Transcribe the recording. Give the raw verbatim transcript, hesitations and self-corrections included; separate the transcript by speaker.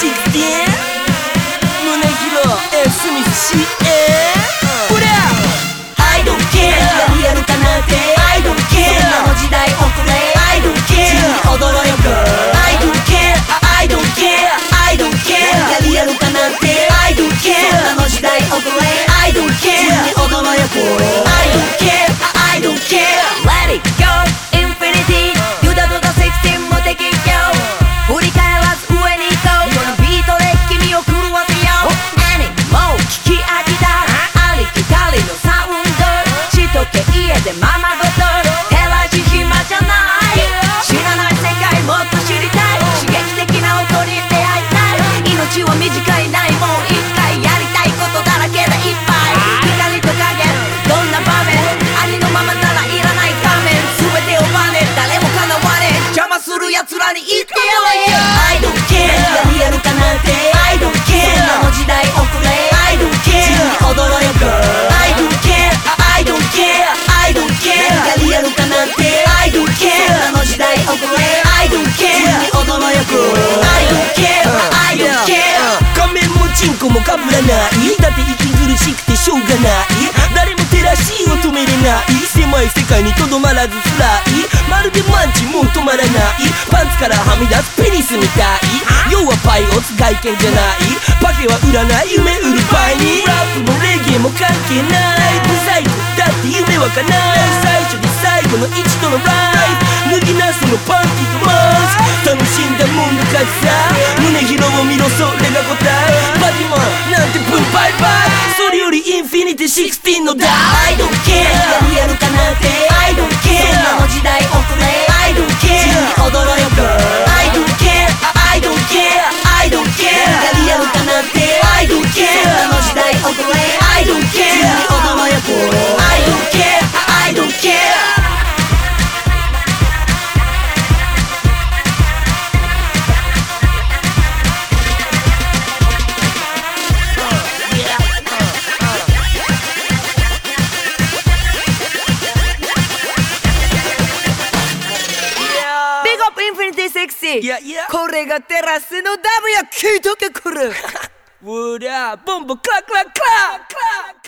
Speaker 1: シックスティーン 宗広 F スミス シーエー ほら I don't care リアルかなんて I don't care そんなの時代遅れ I don't care 自由に踊ろうよ girl I don't care I don't care I don't care リアルかなんて I don't care そんなの時代遅れ I don't care 自由に踊ろうよ girl I don't care I don't care
Speaker 2: Let it go Infinity ユダとだセクシー無敵よ振り返らず上に行こうこのビートで君を狂わせよう Any もう聞き飽きたありきたりのサウンドしとけ家でままごと照らし暇じゃない知らない世界もっと知りたい刺激的な音に出会いたい命は短いないもう一回やりたいことだらけでいっぱい光と影どんな場面ありのままならいらない仮面全てをバネ誰もかなわねえ邪魔する奴らに言ってやれよ
Speaker 1: I don't care リアルかなんて I don't care そんなの時代遅れ I don't care 自由に踊ろうよ girl I don't care I don't care I don't care リアルかなんて I don't care そんなの時代遅れ I don't care 自由に踊ろうよ girl I don't care I don't care 仮面もチンコもかぶらないだって息苦しくてしょうがない誰も照らしを止めれない狭い世界にとどまらずスライまるでマンチもう止まらないパンツからはみ出すペニスみたい要はパイオツ外見じゃないパケは売らない夢売るパイにラップもレゲエも関係ないブサイクだって夢は叶う最初で最後の一度のライフ脱ぎなそのパンティとマスク楽しんだもんの勝ちさ胸広を見ろそれが答えバディマンなんてブンバイバイそれよりインフィニティシックスティーンのダイ I don't care リアルかなんて I don't care そんなの時代遅れ I don't care 自由に踊ろうよ girl I don't care I don't care I don't care リアルかなんて I don't care そんなの時代遅れ I don't care 自由に踊ろうよ girl I don't care I don't care
Speaker 2: Sexy
Speaker 1: Yeah, yeah.
Speaker 2: これがテラスのダブや聞いとけこれ
Speaker 1: うらボンボクラクラクラクラ